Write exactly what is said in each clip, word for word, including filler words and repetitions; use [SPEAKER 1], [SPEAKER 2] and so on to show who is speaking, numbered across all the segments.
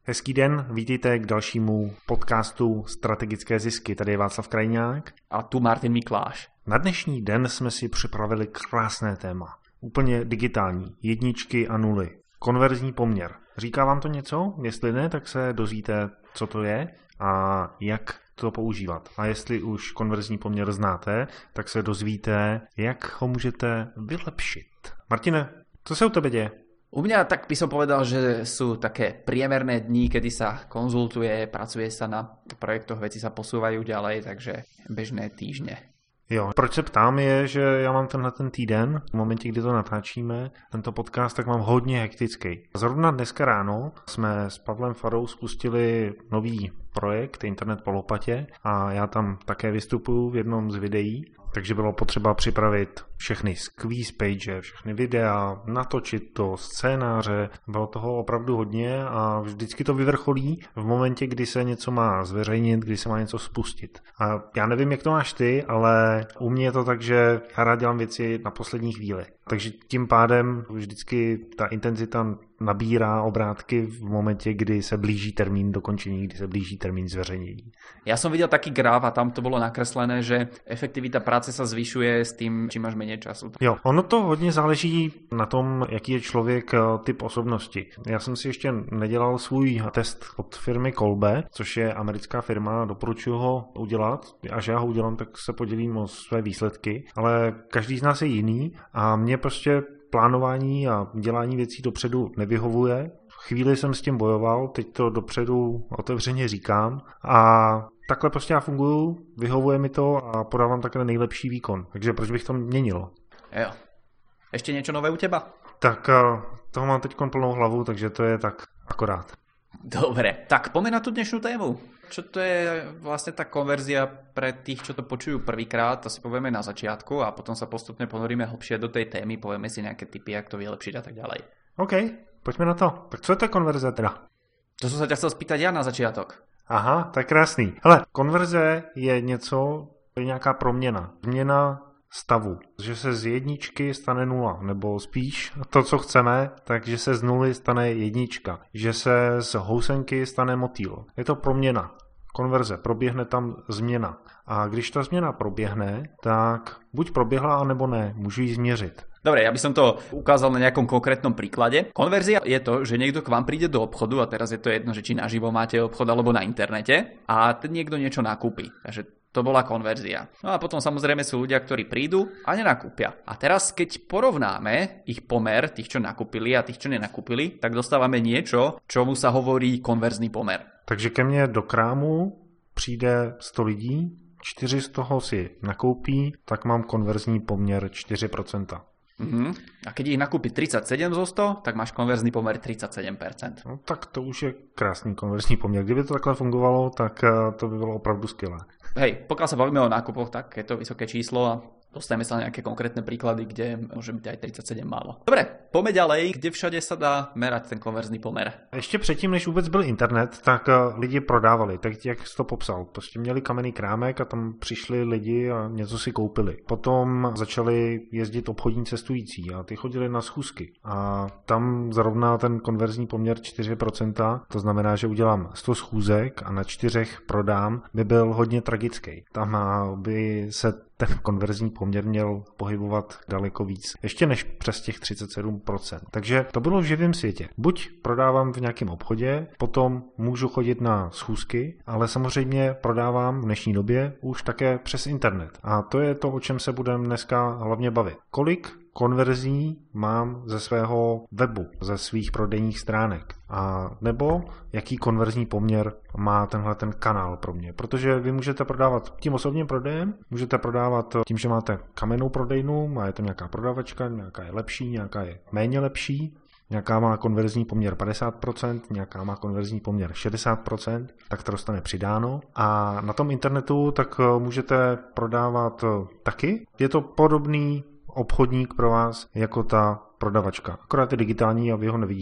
[SPEAKER 1] Hezký den, vítejte k dalšímu podcastu Strategické zisky. Tady je Václav Krajňák.
[SPEAKER 2] A tu Martin Mikláš.
[SPEAKER 1] Na dnešní den jsme si připravili krásné téma. Úplně digitální. Jedničky a nuly. Konverzní poměr. Říká vám to něco? Jestli ne, tak se dozvíte, co to je a jak to používat. A jestli už konverzní poměr znáte, tak se dozvíte, jak ho můžete vylepšit. Martine, co se u tebe děje?
[SPEAKER 2] U mňa tak by som povedal, že sú také priemerné dni, kedy sa konzultuje, pracuje sa na projektoch, veci sa posúvajú ďalej, takže bežné týždne.
[SPEAKER 1] Jo, proč se ptám je, že já mám tenhle ten týden, v momentě, kdy to natáčíme, tento podcast, tak mám hodně hektický. Zrovna dneska ráno jsme s Pavlem Farou spustili nový projekt Internet po lopatě a já tam také vystupuju v jednom z videí, takže bylo potřeba připravit všechny squeeze page, všechny videa, natočit to, scénáře, bylo toho opravdu hodně a vždycky to vyvrcholí v momentě, kdy se něco má zveřejnit, kdy se má něco spustit. A já nevím, jak to máš ty, ale u mě je to tak, že já rád dělám věci na poslední chvíli. Takže tím pádem vždycky ta intenzita nabírá obrátky v momentě, kdy se blíží termín dokončení, kdy se blíží termín zveřejnění.
[SPEAKER 2] Ja som videl taký graf a tam to bolo nakreslené, že efektivita práce sa zvyšuje s tým, čím máš menej času.
[SPEAKER 1] Jo, ono to hodně záleží na tom, jaký je člověk typ osobnosti. Já jsem si ještě nedělal svůj test od firmy Kolbe, což je americká firma, doporučuji ho udělat. Až já ho udělám, tak se podělím o své výsledky, ale každý z nás je jiný a mě prostě plánování a dělání věcí dopředu nevyhovuje. Chvíli jsem s tím bojoval, teď to dopředu otevřeně říkám a takhle prostě já funguju, vyhovuje mi to a podávám takhle nejlepší výkon. Takže proč bych to měnil?
[SPEAKER 2] Jo. Ešte niečo nové u teba?
[SPEAKER 1] Tak toho mám teď plnou hlavu, takže to je tak akorát.
[SPEAKER 2] Dobre, tak poďme na tú dnešnú tému. Čo to je vlastne tá konverzia pre tých, čo to počujú prvýkrát, to si povieme na začiatku a potom sa postupne ponoríme hlbšie do tej témy, povieme si nejaké tipy, jak to vylepšiť a tak ďalej.
[SPEAKER 1] OK, poďme na to. Tak co je to konverze teda?
[SPEAKER 2] To som sa ťa chcel spýtať ja na začiatok.
[SPEAKER 1] Aha, tak krásný. Hele, konverze je něco, je nějaká proměna. Změna stavu, že se z jedničky stane nula, nebo spíš to, co chceme, takže se z nuly stane jednička, že se z housenky stane motýl. Je to proměna, konverze, proběhne tam změna. A když ta změna proběhne, tak buď proběhla, anebo ne, můžu ji změřit.
[SPEAKER 2] Dobre, ja by som to ukázal na nejakom konkrétnom príklade. Konverzia je to, že niekto k vám príde do obchodu a teraz je to jedno, že či naživo máte obchod alebo na internete a ten niekto niečo nakúpi. Takže to bola konverzia. No a potom samozrejme sú ľudia, ktorí prídu a nenakúpia. A teraz, keď porovnáme ich pomer, tých, čo nakúpili a tých, čo nenakúpili, tak dostávame niečo, čomu sa hovorí konverzný pomer.
[SPEAKER 1] Takže ke mne do krámu přijde sto lidí, čtyři z toho si nakoupí, tak mám konverzní poměr čtyři procenta.
[SPEAKER 2] Uh-huh. A keď ich nakúpi tridsaťsedem zo sto, tak máš konverzný pomer tridsaťsedem percent.
[SPEAKER 1] No, tak to už je krásný konverzní poměr. Kdyby to takhle fungovalo, tak to by bylo opravdu skvělé.
[SPEAKER 2] Hej, pokiaľ sa bavíme o nákupoch, tak je to vysoké číslo a dostaneme sa na nejaké konkrétne príklady, kde môže byť aj tridsaťsedem málo. Dobre, poďme ďalej, kde všade sa dá merať ten konverzný pomer.
[SPEAKER 1] Ještě předtím, než vůbec byl internet, tak lidi prodávali, tak jak jsi to popsal. Prostě měli kamenný krámek a tam přišli lidi a něco si koupili. Potom začali jezdit obchodní cestující a ty chodili na schůzky. A tam zrovna ten konverzní poměr čtyři procenta, to znamená, že udělám sto schůzek a na čtyřech prodám, by byl hodně tragický. Tam by se ten konverzní poměr měl pohybovat daleko víc, ještě než přes těch třicet sedm procent. Takže to bylo v živém světě. Buď prodávám v nějakém obchodě, potom můžu chodit na schůzky, ale samozřejmě prodávám v dnešní době už také přes internet. A to je to, o čem se budeme dneska hlavně bavit. Kolik konverzí mám ze svého webu, ze svých prodejních stránek. A nebo jaký konverzní poměr má tenhle ten kanál pro mě. Protože vy můžete prodávat tím osobním prodejem, můžete prodávat tím, že máte kamennou prodejnu, má je tam nějaká prodavačka, nějaká je lepší, nějaká je méně lepší, nějaká má konverzní poměr padesát procent, nějaká má konverzní poměr šedesát procent, tak to dostane přidáno. A na tom internetu tak můžete prodávat taky. Je to podobný obchodník pro vás jako ta prodavačka. Akorát je digitální a vy ho nevidíte.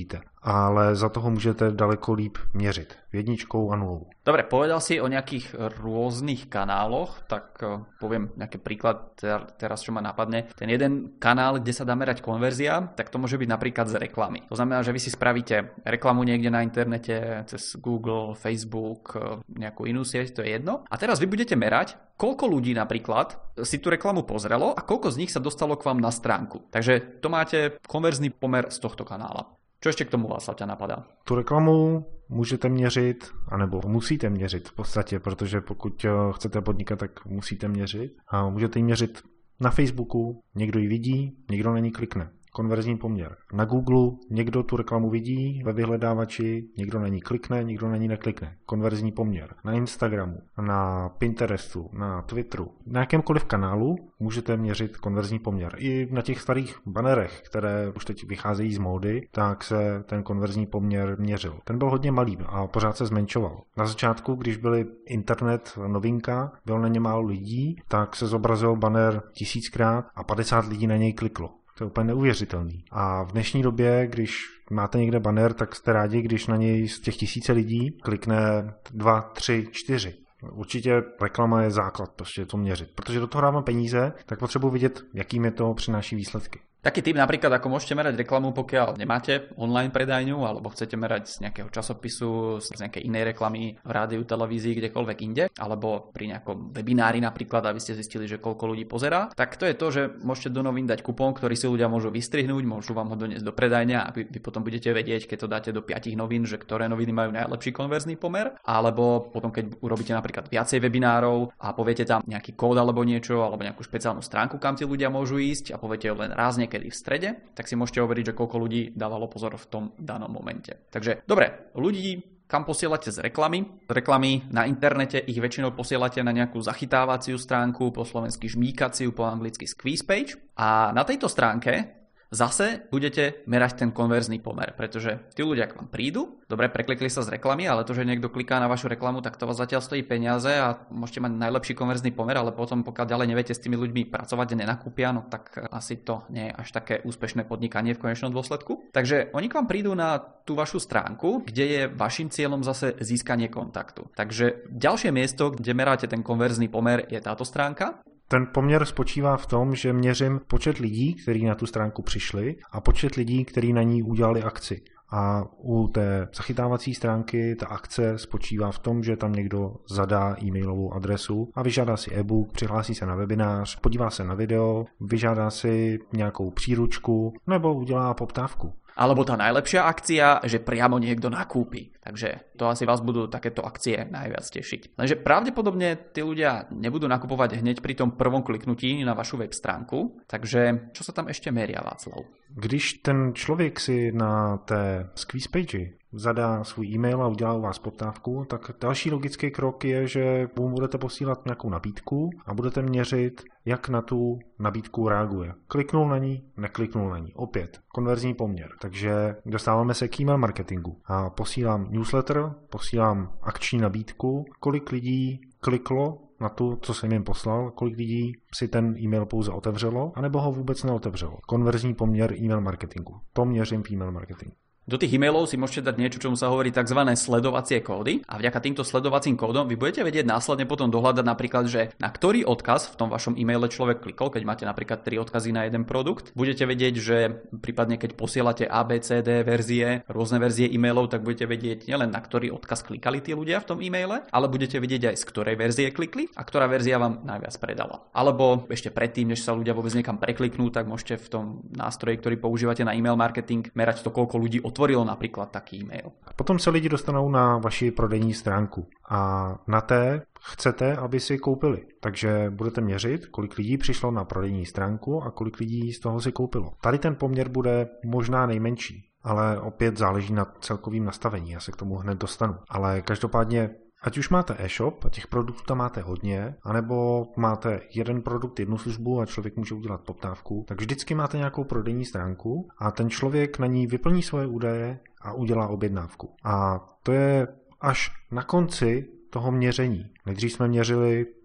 [SPEAKER 1] ale za toho můžete daleko líp měřit. Jedničkou a nulou.
[SPEAKER 2] Dobre, povedal si o nejakých rôznych kanáloch, tak poviem nejaký príklad teraz, čo ma napadne. Ten jeden kanál, kde sa dá merať konverzia, tak to môže byť napríklad z reklamy. To znamená, že vy si spravíte reklamu niekde na internete, cez Google, Facebook, nejakú inú sieť, to je jedno. A teraz vy budete merať, koľko ľudí napríklad si tú reklamu pozrelo a koľko z nich sa dostalo k vám na stránku. Takže to máte konverzný pomer z tohto kanála. Čo ešte k tomu vás ťa napadá?
[SPEAKER 1] Tu reklamu můžete měřit, anebo musíte měřit v podstatě, protože pokud chcete podnikat, tak musíte měřit. A můžete ji měřit na Facebooku, někdo ji vidí, někdo na ní klikne. Konverzní poměr. Na Google někdo tu reklamu vidí ve vyhledávači, někdo na ní klikne, někdo na ní neklikne. Konverzní poměr. Na Instagramu, na Pinterestu, na Twitteru, na jakémkoliv kanálu můžete měřit konverzní poměr. I na těch starých banerech, které už teď vycházejí z módy, tak se ten konverzní poměr měřil. Ten byl hodně malý a pořád se zmenšoval. Na začátku, když byl internet novinka, bylo na ně málo lidí, tak se zobrazil banner tisíckrát a padesát lidí na něj kliklo. To je úplně neuvěřitelný. A v dnešní době, když máte někde banner, tak jste rádi, když na něj z těch tisíce lidí klikne dva, tři, čtyři. Určitě reklama je základ, prostě to měřit. Protože do toho dávám peníze, tak potřebuji vidět, jakým je to přináší výsledky.
[SPEAKER 2] Taký tip napríklad, ako môžete merať reklamu, pokiaľ nemáte online predajňu alebo chcete merať z nejakého časopisu, z nejakej inej reklamy v rádiu, televízii, kdekoľvek inde, alebo pri nejakom webinári napríklad, aby ste zistili, že koľko ľudí pozerá, tak to je to, že môžete do novín dať kupón, ktorý si ľudia môžu vystrihnúť, môžu vám ho doniesť do predajňa a vy, vy potom budete vedieť, keď to dáte do piatich novín, že ktoré noviny majú najlepší konverzný pomer, alebo potom keď urobíte napríklad viacej webinárov a poviete tam nejaký kód alebo niečo, alebo nejakú špeciálnu stránku, kam tí ľudia môžu ísť a poviete len raz kedy v strede, tak si môžete overiť, že koľko ľudí dávalo pozor v tom danom momente. Takže dobre, ľudí kam posielate z reklamy. Reklamy na internete ich väčšinou posielate na nejakú zachytávaciu stránku, po slovensky žmýkaciu, po anglicky squeeze page. A na tejto stránke zase budete merať ten konverzný pomer, pretože tí ľudia k vám prídu, dobre, preklikli sa z reklamy, ale to, že niekto kliká na vašu reklamu, tak to vás zatiaľ stojí peniaze a môžete mať najlepší konverzný pomer, ale potom, pokiaľ ďalej neviete s tými ľuďmi pracovať a nenakúpia, no tak asi to nie je až také úspešné podnikanie v konečnom dôsledku. Takže oni k vám prídu na tú vašu stránku, kde je vašim cieľom zase získanie kontaktu. Takže ďalšie miesto, kde meráte ten konverzný pomer, je táto stránka.
[SPEAKER 1] Ten poměr spočívá v tom, že měřím počet lidí, kteří na tu stránku přišli a počet lidí, kteří na ní udělali akci. A u té zachytávací stránky ta akce spočívá v tom, že tam někdo zadá e-mailovou adresu a vyžádá si e-book, přihlásí se na webinář, podívá se na video, vyžádá si nějakou příručku nebo udělá poptávku.
[SPEAKER 2] Alebo tá najlepšia akcia, že priamo niekto nakúpi. Takže to asi vás budú takéto akcie najviac tešiť. Lenže pravdepodobne tí ľudia nebudú nakupovať hneď pri tom prvom kliknutí na vašu web stránku. Takže čo sa tam ešte meria, Václav?
[SPEAKER 1] Když ten člověk si na té squeeze page zadá svůj e-mail a udělá u vás poptávku, tak další logický krok je, že mu budete posílat nějakou nabídku a budete měřit, jak na tu nabídku reaguje. Kliknul na ní, nekliknul na ní. Opět, konverzní poměr. Takže dostáváme se k e-mail marketingu. A posílám newsletter, posílám akční nabídku, kolik lidí kliklo na to, co jsem jim poslal, kolik lidí si ten e-mail pouze otevřelo, anebo ho vůbec neotevřelo. Konverzní poměr e-mail marketingu. To měřím v e-mail marketingu.
[SPEAKER 2] Do tých e-mailov si môžete dať niečo, čomu sa hovorí tzv. Sledovacie kódy a vďaka týmto sledovacím kódom vy budete vedieť následne potom dohľadať napríklad, že na ktorý odkaz v tom vašom e-maile človek klikol, keď máte napríklad tri odkazy na jeden produkt. Budete vedieť, že prípadne keď posielate A, B, C, D verzie, rôzne verzie e-mailov, tak budete vedieť nielen na ktorý odkaz klikali tí ľudia v tom e-maile, ale budete vedieť aj z ktorej verzie klikli a ktorá verzia vám najviac predala. Alebo ešte predtým, než sa ľudia vôbec niekam prekliknú, tak môžete v tom nástroji, ktorý používate na e-mail marketing, merať to, koľko ľudí otvorilo napríklad taký e-mail.
[SPEAKER 1] Potom se lidi dostanou na vaši prodejní stránku a na té chcete, aby si koupili. Takže budete měřit, kolik lidí přišlo na prodejní stránku a kolik lidí z toho si koupilo. Tady ten poměr bude možná nejmenší, ale opět záleží na celkovém nastavení, já se k tomu hned dostanu. Ale každopádně ať už máte e-shop a těch produktů tam máte hodně, anebo máte jeden produkt, jednu službu a člověk může udělat poptávku, tak vždycky máte nějakou prodejní stránku a ten člověk na ní vyplní svoje údaje a udělá objednávku. A to je až na konci toho měření. Nejdřív jsme měřili,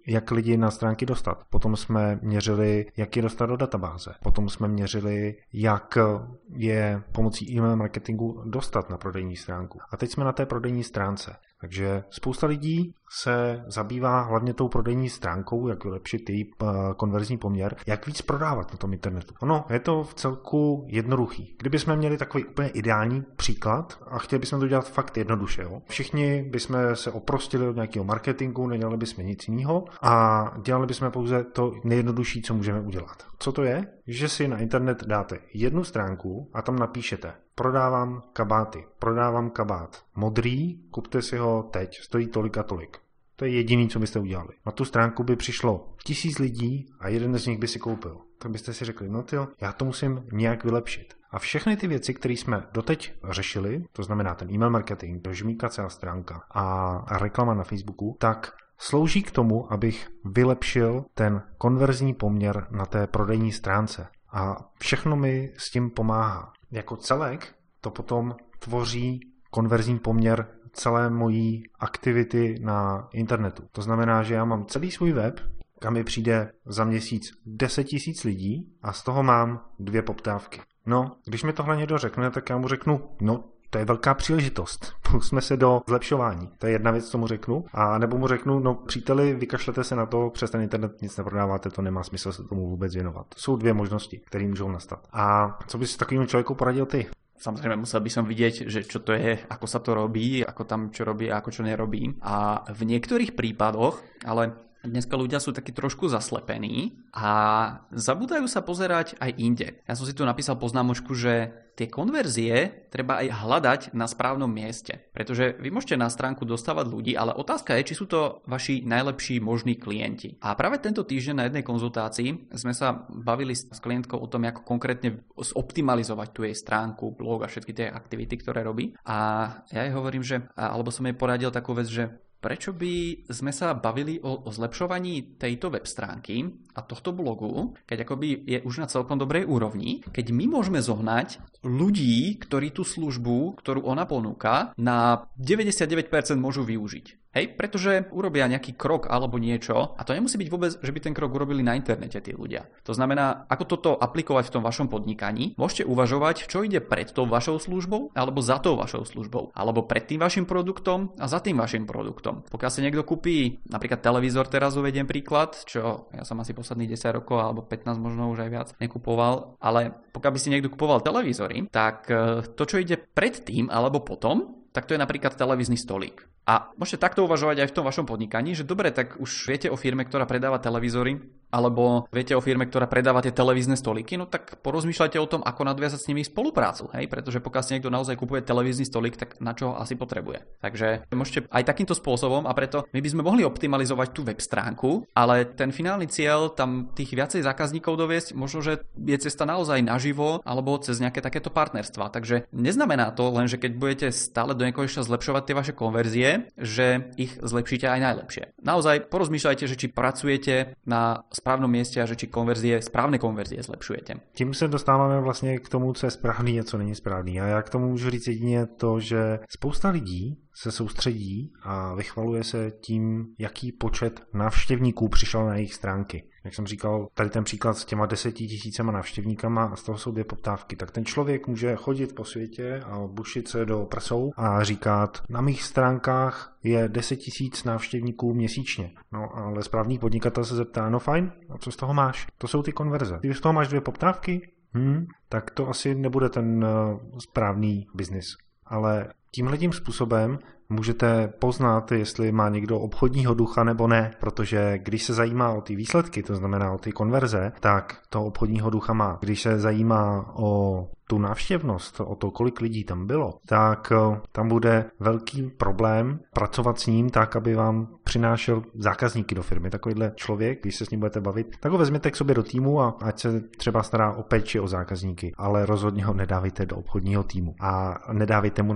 [SPEAKER 1] jak lidi na stránky dostat. Potom jsme měřili, jak je dostat do databáze. Potom jsme měřili, jak je pomocí e-mail marketingu dostat na prodejní stránku. A teď jsme na té prodejní stránce. Takže spousta lidí se zabývá hlavně tou prodejní stránkou, jak vylepšit její konverzní poměr, jak víc prodávat na tom internetu. Ono je to v celku jednoduchý. Kdybychom měli takový úplně ideální příklad a chtěli bychom to dělat fakt jednoduše, jo? Všichni bychom se oprostili od nějakého marketingu, nedělali bychom nic jiného a dělali bychom pouze to nejjednodušší, co můžeme udělat. Co to je? Že si na internet dáte jednu stránku a tam napíšete: prodávám kabáty, prodávám kabát modrý, kupte si ho teď, stojí tolik a tolik. To je jediný, co byste udělali. Na tu stránku by přišlo tisíc lidí a jeden z nich by si koupil. Tak byste si řekli, no tyjo, já to musím nějak vylepšit. A všechny ty věci, které jsme doteď řešili, to znamená ten e-mail marketing, žmýkací stránka a reklama na Facebooku, tak slouží k tomu, abych vylepšil ten konverzní poměr na té prodejní stránce. A všechno mi s tím pomáhá. Jako celek to potom tvoří konverzní poměr celé mojí aktivity na internetu. To znamená, že já mám celý svůj web, kam mi přijde za měsíc deset tisíc lidí a z toho mám dvě poptávky. No, když mi tohle někdo řekne, tak já mu řeknu, no, to je velká příležitost. Pusťme se do zlepšování. To je jedna věc, co mu řeknu. A nebo mu řeknu, no příteli, vykašlete se na to, přes ten internet nic neprodáváte, to nemá smysl se tomu vůbec věnovat. To jsou dvě možnosti, které můžou nastat. A co bys takovému člověku poradil ty?
[SPEAKER 2] Samozrejme, musel by som vidieť, že čo to je, ako sa to robí, ako tam čo robí a ako čo nerobí. A v niektorých prípadoch, ale dneska ľudia sú takí trošku zaslepení a zabúdajú sa pozerať aj inde. Ja som si tu napísal poznámočku, že tie konverzie treba aj hľadať na správnom mieste. Pretože vy môžete na stránku dostávať ľudí, ale otázka je, či sú to vaši najlepší možní klienti. A práve tento týždeň na jednej konzultácii sme sa bavili s klientkou o tom, ako konkrétne zoptimalizovať tú jej stránku, blog a všetky tie aktivity, ktoré robí. A ja jej hovorím, že, alebo som jej poradil takú vec, že prečo by sme sa bavili o, o zlepšovaní tejto web stránky a tohto blogu, keď akoby je už na celkom dobrej úrovni, keď my môžeme zohnať ľudí, ktorí tú službu, ktorú ona ponúka, na deväťdesiatdeväť percent môžu využiť. Hej, pretože urobia nejaký krok alebo niečo a to nemusí byť vôbec, že by ten krok urobili na internete tí ľudia. To znamená, ako toto aplikovať v tom vašom podnikaní, môžete uvažovať, čo ide pred tou vašou službou alebo za tou vašou službou, alebo pred tým vašim produktom a za tým vašim produktom. Pokiaľ si niekto kúpi napríklad televízor, teraz uvediem príklad, čo ja som asi posledných desať rokov alebo pätnásť možno už aj viac nekupoval, ale pokiaľ by si niekto kupoval televízory, tak to, čo ide pred tým alebo potom, tak to je napríklad televízny stolík. A môžete takto uvažovať aj v tom vašom podnikaní, že dobre, tak už viete o firme, ktorá predáva televízory, alebo viete o firme, ktorá predáva tie televízne stolíky, no tak porozmýšľajte o tom, ako nadviazať s nimi spoluprácu, hej, pretože pokiaľ si niekto naozaj kupuje televízny stolík, tak na čo ho asi potrebuje. Takže môžete aj takýmto spôsobom a preto my by sme mohli optimalizovať tú web stránku, ale ten finálny cieľ tam tých viacej zákazníkov doviesť, možno že je cesta naozaj naživo alebo cez nejaké takéto partnerstva. Takže neznamená to len, že keď budete stále do nekonečna zlepšovať tie vaše konverzie, že ich zlepšíte aj najlepšie. Naozaj porozmýšľajte, že či pracujete na správnom mieste a že či konverzie, správne konverzie zlepšujete.
[SPEAKER 1] Tím se dostáváme vlastně k tomu, co je správný a co není správný. A já k tomu můžu říct jedině to, že spousta lidí se soustředí a vychvaluje se tím, jaký počet návštěvníků přišel na jejich stránky. Jak jsem říkal, tady ten příklad s těma deseti tisícema návštěvníkama a z toho jsou dvě poptávky. Tak ten člověk může chodit po světě a bušit se do prsou a říkat, na mých stránkách je deset tisíc návštěvníků měsíčně. No ale správný podnikatel se zeptá, no fajn, a co z toho máš? To jsou ty konverze. Když z toho máš dvě poptávky, hmm, tak to asi nebude ten uh, správný biznis. Ale tímhletím způsobem můžete poznat, jestli má někdo obchodního ducha nebo ne, protože když se zajímá o ty výsledky, to znamená o ty konverze, tak toho obchodního ducha má. Když se zajímá o tu návštěvnost, o to, kolik lidí tam bylo, tak tam bude velký problém pracovat s ním tak, aby vám přinášel zákazníky do firmy. Takovýhle člověk, když se s ním budete bavit, tak ho vezměte k sobě do týmu a ať se třeba stará o péči o zákazníky, ale rozhodně ho nedávejte do obchodního týmu a nedávejte mu na starosti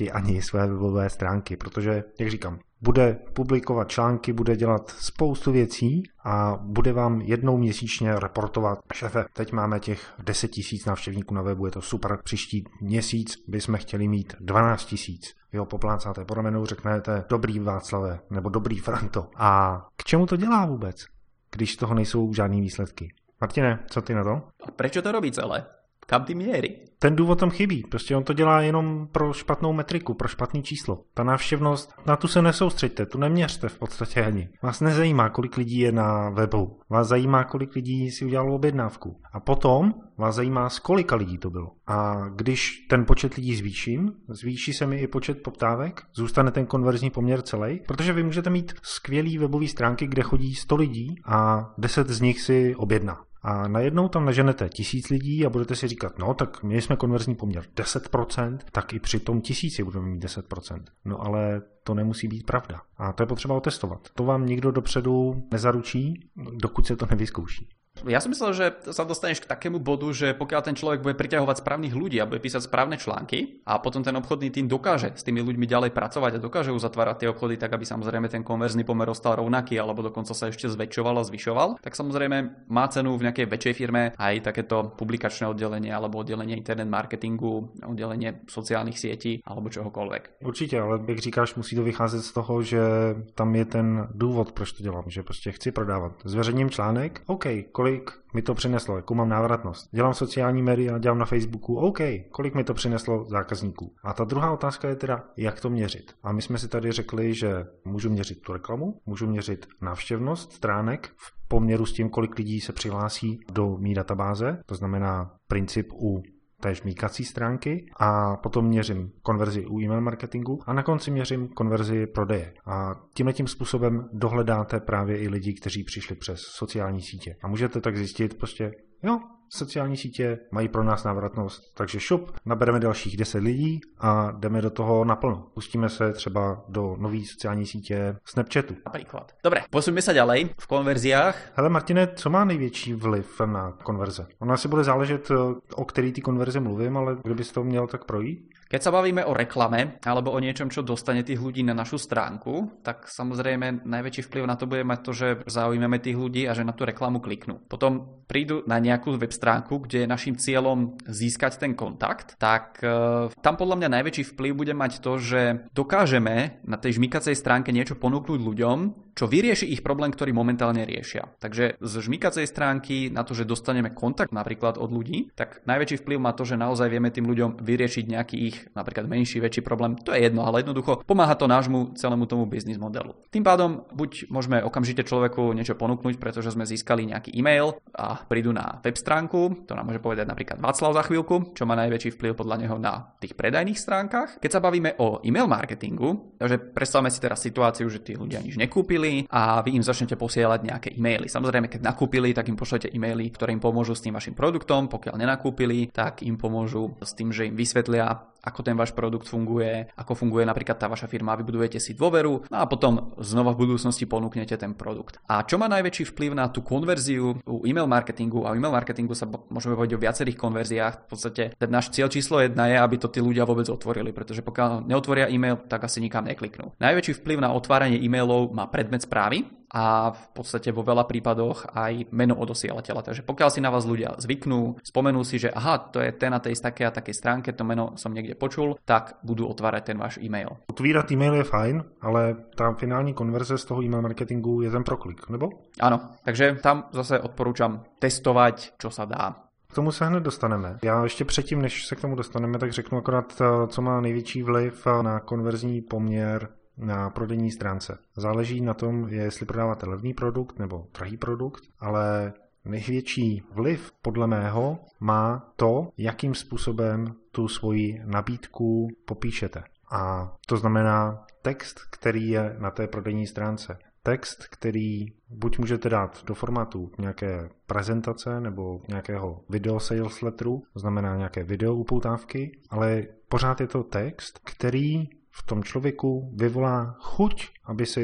[SPEAKER 1] nepustí ani své webové stránky, protože, jak říkám, bude publikovat články, bude dělat spoustu věcí a bude vám jednou měsíčně reportovat: šéfe, teď máme těch deset tisíc návštěvníků na webu, je to super, příští měsíc bychom chtěli mít dvanáct tisíc. Vy ho poplácáte po ramenu, řeknete: dobrý Václave, nebo dobrý Franto. A k čemu to dělá vůbec, když z toho nejsou žádný výsledky? Martine, co ty na to?
[SPEAKER 2] A prečo to robí celé? Kam ty mierí?
[SPEAKER 1] Ten důvod tam chybí. Prostě on to dělá jenom pro špatnou metriku, pro špatný číslo. Ta návštěvnost, na tu se nesoustřeďte, tu neměřte v podstatě ani. Vás nezajímá, kolik lidí je na webu. Vás zajímá, kolik lidí si udělalo objednávku. A potom vás zajímá, z kolika lidí to bylo. A když ten počet lidí zvýším, zvýší se mi i počet poptávek, zůstane ten konverzní poměr celý, protože vy můžete mít skvělý webový stránky, kde chodí sto lidí a deset z nich si objedná. A najednou tam naženete tisíc lidí a budete si říkat: no tak my jsme konverzní poměr deset procent, tak i při tom tisíci budeme mít deset procent. No ale to nemusí být pravda. A to je potřeba otestovat. To vám nikdo dopředu nezaručí, dokud se to nevyzkouší.
[SPEAKER 2] Ja som myslel, že sa dostaneš k takému bodu, že pokiaľ ten človek bude priťahovať správnych ľudí a bude písať správne články a potom ten obchodný tým dokáže s tými ľuďmi ďalej pracovať a dokáže uzatvárať tie obchody tak, aby samozrejme ten konverzný pomer ostal rovnaký alebo dokonca sa ešte zväčšoval a zvyšoval, tak samozrejme má cenu v nejakej väčšej firme aj takéto publikačné oddelenie alebo oddelenie internet marketingu, oddelenie sociálnych sietí alebo čohokoľvek.
[SPEAKER 1] Určitě, ale jak říkáš, musí to vycházet z toho, že tam je ten důvod, proč to dělám, že prostě chci prodávat. Zveřejním článek, OK, kolik mi to přineslo, jakou mám návratnost. Dělám sociální média, dělám na Facebooku, OK, kolik mi to přineslo zákazníků. A ta druhá otázka je teda, jak to měřit. A my jsme si tady řekli, že můžu měřit tu reklamu, můžu měřit návštěvnost stránek v poměru s tím, kolik lidí se přihlásí do mý databáze, to znamená princip u té žmýkací stránky, a potom měřím konverzi u e-mail marketingu a na konci měřím konverzi prodeje. A tímhletím způsobem dohledáte právě i lidi, kteří přišli přes sociální sítě. A můžete tak zjistit prostě, jo, sociální sítě mají pro nás návratnost, takže šup, nabereme dalších deset lidí a jdeme do toho naplno. Pustíme se třeba do nové sociální sítě Snapchatu.
[SPEAKER 2] Napríklad. Dobre, posuňme sa ďalej v konverziách.
[SPEAKER 1] Hele Martine, co má největší vliv na konverze? Ono asi bude záležet, o který ty konverze mluvím, ale kdyby si to měl tak projít?
[SPEAKER 2] Keď sa bavíme o reklame alebo o niečom, čo dostane tých ľudí na našu stránku, tak samozrejme najväčší vplyv na to bude mať to, že zaujímame tých ľudí a že na tú reklamu kliknú. Potom prídu na nejakú web stránku, kde je našim cieľom získať ten kontakt, tak e, tam podľa mňa najväčší vplyv bude mať to, že dokážeme na tej žmýkacej stránke niečo ponúknuť ľuďom, čo vyrieši ich problém, ktorý momentálne riešia. Takže z žmýkacej stránky na to, že dostaneme kontakt napríklad od ľudí, tak najväčší vplyv má to, že naozaj vieme tým ľuďom vyriešiť nejaký ich napríklad menší, väčší problém. To je jedno, ale jednoducho pomáha to nášmu celému tomu biznis modelu. Tým pádom buď môžeme okamžite človeku niečo ponúknuť, pretože sme získali nejaký e-mail a prídu na web stránku, to nám môže povedať napríklad Václav za chvíľku, čo má najväčší vplyv podľa neho na tých predajných stránkach. Keď sa bavíme o e-mail marketingu, takže predstavme si teraz situáciu, že tí ľudia nič nekúpili a vy im začnete posielať nejaké e-maily. Samozrejme, keď nakúpili, tak im pošlete e-maily, ktoré im pomôžu s tým vašim produktom. Pokiaľ nenakúpili, tak im pomôžu s tým, že im vysvetlia, ako ten váš produkt funguje, ako funguje napríklad tá vaša firma, vybudujete si dôveru, no a potom znova v budúcnosti ponúknete ten produkt. A čo má najväčší vplyv na tú konverziu u e-mail marketingu? A u e-mail marketingu sa môžeme povedať o viacerých konverziách. V podstate ten náš cieľ číslo jedna je, aby to tí ľudia vôbec otvorili, pretože pokiaľ neotvoria e-mail, tak asi nikam nekliknú. Najväčší vplyv na otváranie e-mailov má predmet správy a v podstate vo veľa prípadoch aj meno odosielateľa. Takže pokiaľ si na vás ľudia zvyknú, spomenú si, že aha, to je ten na tej takej a takej stránke, to meno som niekde počul, tak budú otvárať ten váš e-mail.
[SPEAKER 1] Otvírat e-mail je fajn, ale tá finální konverze z toho e-mail marketingu je ten proklik, nebo?
[SPEAKER 2] Áno, takže tam zase odporúčam testovať, čo sa dá.
[SPEAKER 1] K tomu se hned dostaneme. Já ještě předtím, než se k tomu dostaneme, tak řeknu akorát, co má největší vliv na konverzní poměr na prodejní stránce. Záleží na tom, jestli prodáváte levný produkt nebo drahý produkt, ale největší vliv podle mého má to, jakým způsobem tu svoji nabídku popíšete. A to znamená text, který je na té prodejní stránce. Text, který buď můžete dát do formátu nějaké prezentace nebo nějakého video sales letteru, to znamená nějaké video upoutávky, ale pořád je to text, který v tom člověku vyvolá chuť, aby si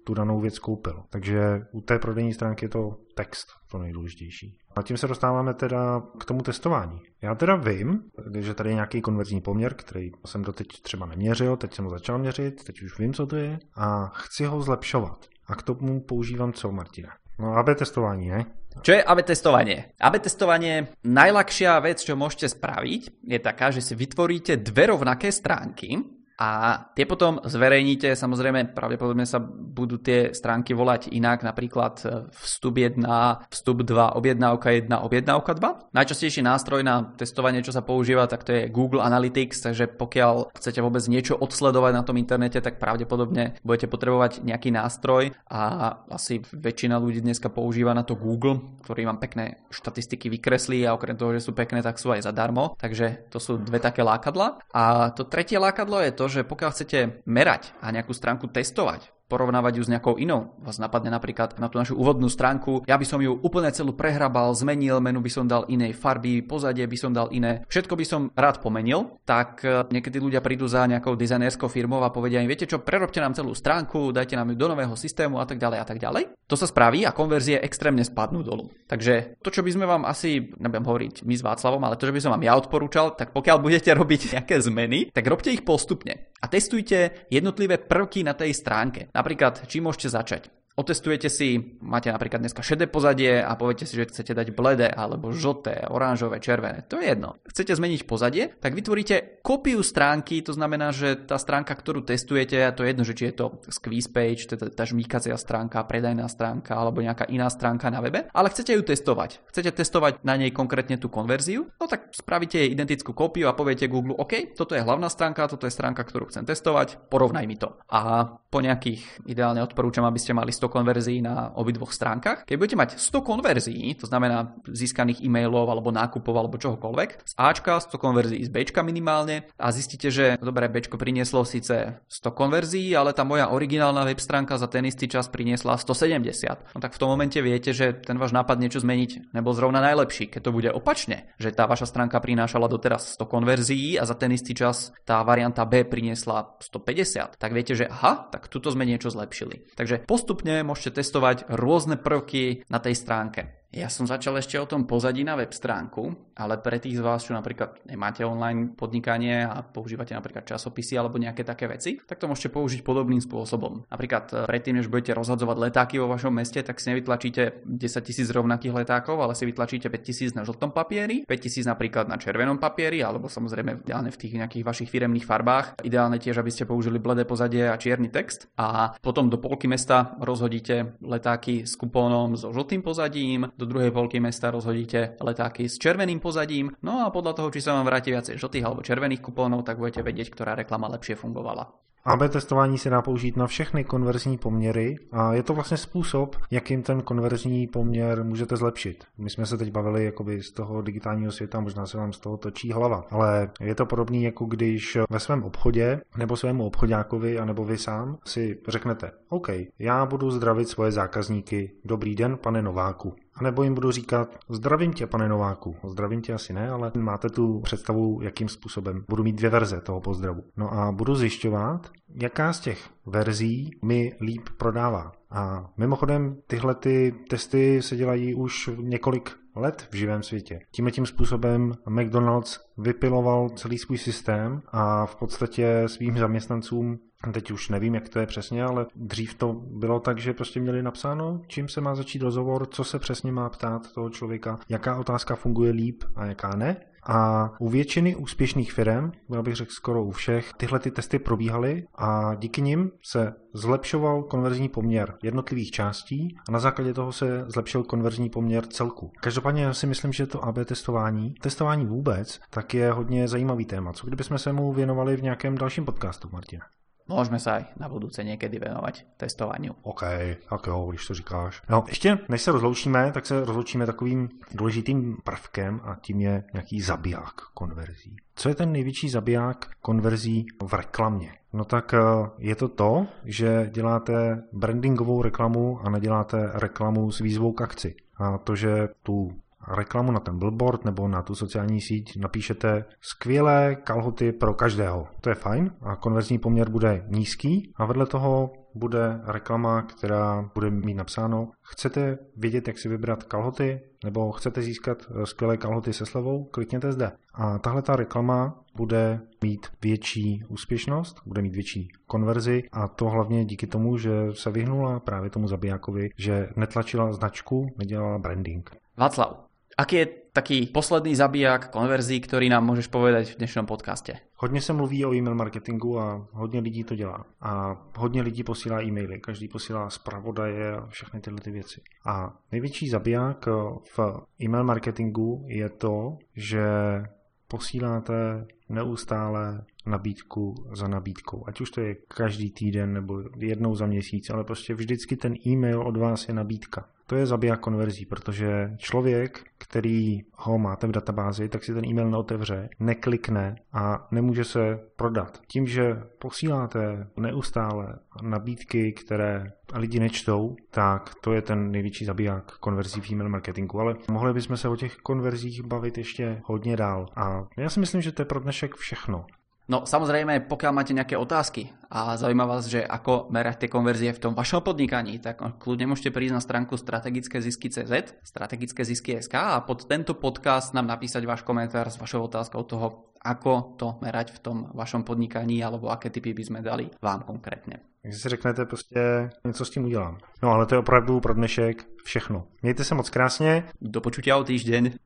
[SPEAKER 1] tu danou věc koupil. Takže u té prodejní stránky je to text to nejdůležitější. A tím se dostáváme teda k tomu testování. Já teda vím, že tady je nějaký konverzní poměr, který jsem doteď třeba neměřil, teď jsem ho začal měřit, teď už vím, co to je a chci ho zlepšovat. A k tomu používám co, Martina? No á bé testování, ne?
[SPEAKER 2] Čo je á bé testovanie? á bé testovanie, najľahšia vec, čo môžete spraviť, je taká, že si vytvoríte dve rovnaké stránky a tie potom zverejníte. Samozrejme, pravdepodobne sa budú tie stránky volať inak, napríklad vstup jeden, vstup dva, objednávka jeden, objednávka dva. Najčastejší nástroj na testovanie, čo sa používa, tak to je Google Analytics, takže pokiaľ chcete vôbec niečo odsledovať na tom internete, tak pravdepodobne budete potrebovať nejaký nástroj a asi väčšina ľudí dneska používa na to Google, ktorý vám pekné štatistiky vykreslí a okrem toho, že sú pekné, tak sú aj zadarmo. Takže to sú dve také lákadlá. A to tretie lákadlo je to, že pokiaľ chcete merať a nejakú stránku testovať, porovnávať ju s nejakou inou. Vás napadne napríklad na tú našu úvodnú stránku, ja by som ju úplne celú prehrabal, zmenil, menu by som dal inej farby, pozadie by som dal iné, všetko by som rád pomenil, tak niekedy ľudia prídu za nejakou dizajnerskou firmou a povedia im, viete čo, prerobte nám celú stránku, dajte nám ju do nového systému a tak ďalej a tak ďalej. To sa spraví a konverzie extrémne spadnú dolu. Takže to, čo by sme vám asi, nebudem hovoriť my s Václavom, ale to, čo by som vám ja odporúčal, tak pokiaľ budete robiť nejaké zmeny, tak robte ich postupne a testujte jednotlivé prvky na tej stránke. Napríklad, čím môžete začať? Otestujete si, máte napríklad dneska šedé pozadie a poviete si, že chcete dať bledé alebo žlté, oranžové, červené. To je jedno. Chcete zmeniť pozadie, tak vytvoríte kópiu stránky, to znamená, že tá stránka, ktorú testujete, a to je jedno, že či je to squeeze page, teda tá žmýkacia stránka, predajná stránka alebo nejaká iná stránka na webe, ale chcete ju testovať. Chcete testovať na nej konkrétne tú konverziu, no tak spravíte jej identickú kópiu a poviete Google, OK, toto je hlavná stránka, toto je stránka, ktorú chcem testovať, porovnaj mi to. A po nejakých, ideálne odporúčam, aby ste mali sto konverzií na obidvoch stránkach. Keď budete mať sto konverzií, to znamená získaných e-mailov alebo nákupov alebo čohokoľvek, z Ačka, sto konverzií z Bčka minimálne a zistíte, že dobre, Bčko prinieslo síce sto konverzií, ale tá moja originálna web stránka za ten istý čas priniesla stosedemdesiat. No tak v tom momente viete, že ten váš nápad niečo zmeniť nebol zrovna najlepší. Keď to bude opačne, že tá vaša stránka prinášala doteraz sto konverzií a za ten istý čas tá varianta B priniesla stopäťdesiat, tak viete, že aha, tak tuto sme niečo zlepšili. Takže postupne môžete testovať rôzne prvky na tej stránke. Ja som začal ešte o tom pozadí na web stránku, ale pre tých z vás, čo napríklad nemáte online podnikanie a používate napríklad časopisy alebo nejaké také veci, tak to môžete použiť podobným spôsobom. Napríklad predtým, než budete rozhadzovať letáky vo vašom meste, tak si nevytlačíte desaťtisíc rovnakých letákov, ale si vytlačíte päťtisíc na žltom papieri, päťtisíc napríklad na červenom papieri, alebo samozrejme ideálne v tých nejakých vašich firemných farbách. Ideálne tiež, aby ste použili bledé pozadie a čierny text. A potom do polky mesta rozhodíte letáky s kupónom so žltým pozadím, do druhej polky mesta rozhodíte letáky s červeným pozadím, no a podľa toho, či sa vám vráti viacej žltých alebo červených kupónov, tak budete vedieť, ktorá reklama lepšie fungovala.
[SPEAKER 1] á bé testování se dá použít na všechny konverzní poměry a je to vlastně způsob, jakým ten konverzní poměr můžete zlepšit. My jsme se teď bavili jakoby z toho digitálního světa, možná se vám z toho točí hlava, ale je to podobný, jako když ve svém obchodě nebo svému obchodákovi, anebo vy sám si řeknete, OK, já budu zdravit svoje zákazníky, dobrý den, pane Nováku. A nebo jim budu říkat, zdravím tě, pane Nováku. Zdravím tě asi ne, ale máte tu představu, jakým způsobem. Budu mít dvě verze toho pozdravu. No a budu zjišťovat, jaká z těch verzí mi líp prodává. A mimochodem tyhle ty testy se dělají už několik let v živém světě. Tímhle tím způsobem McDonald's vypiloval celý svůj systém a v podstatě svým zaměstnancům, teď už nevím, jak to je přesně, ale dřív to bylo tak, že prostě měli napsáno, čím se má začít rozhovor, co se přesně má ptát toho člověka, jaká otázka funguje líp a jaká ne. A u většiny úspěšných firem, já bych řekl skoro u všech, tyhle ty testy probíhaly a díky nim se zlepšoval konverzní poměr jednotlivých částí a na základě toho se zlepšil konverzní poměr celku. Každopádně já si myslím, že to á bé testování, testování vůbec, tak je hodně zajímavý téma. Co kdybychom se mu věnovali v nějakém dalším podcastu, Martina?
[SPEAKER 2] Môžeme sa aj na budúce niekedy venovať testovaniu.
[SPEAKER 1] OK, tak jo, když to říkáš. No, ještě než se rozloučíme, tak se rozloučíme takovým důležitým prvkem a tím je nějaký zabiják konverzí. Co je ten největší zabiják konverzí v reklamě? No tak je to to, že děláte brandingovou reklamu a neděláte reklamu s výzvou k akci. A to, že tu reklamu na ten billboard nebo na tu sociální síť napíšete skvělé kalhoty pro každého. To je fajn a konverzní poměr bude nízký a vedle toho bude reklama, která bude mít napsáno: chcete vědět, jak si vybrat kalhoty, nebo chcete získat skvělé kalhoty se slevou, klikněte zde. A tahle ta reklama bude mít větší úspěšnost, bude mít větší konverzi a to hlavně díky tomu, že se vyhnula právě tomu zabijákovi, že netlačila značku, nedělala branding.
[SPEAKER 2] Václav, aký je taký posledný zabiják konverzí, ktorý nám môžeš povedať v dnešnom podcaste?
[SPEAKER 1] Hodně se mluví o e-mail marketingu a hodně lidí to dělá. A hodně lidí posílá e-maily, každý posílá zpravodaje a všechny tyhle ty věci. A největší zabiják v e-mail marketingu je to, že posíláte neustále nabídku za nabídkou. Ať už to je každý týden nebo jednou za měsíc, ale prostě vždycky ten e-mail od vás je nabídka. To je zabiják konverzí, protože člověk, který ho máte v databázi, tak si ten e-mail neotevře, neklikne a nemůže se prodat. Tím, že posíláte neustále nabídky, které lidi nečtou, tak to je ten největší zabiják konverzí v e-mail marketingu. Ale mohli bychom se o těch konverzích bavit ještě hodně dál. A já si myslím, že to je pro dnešek všechno.
[SPEAKER 2] No samozrejme, pokiaľ máte nejaké otázky a zaujíma vás, že ako merať tie konverzie v tom vašom podnikaní, tak kľudne môžete prísť na stránku strategické zisky bodka cé zet, strategické zisky bodka es ká a pod tento podcast nám napísať váš komentár s vašou otázkou toho, ako to merať v tom vašom podnikaní alebo aké tipy by sme dali vám konkrétne.
[SPEAKER 1] Takže si řeknete prostě, něco s tím udělám. No ale to je opravdu pro dnešek všechno. Mějte se moc krásně.
[SPEAKER 2] Do počutia o týždeň.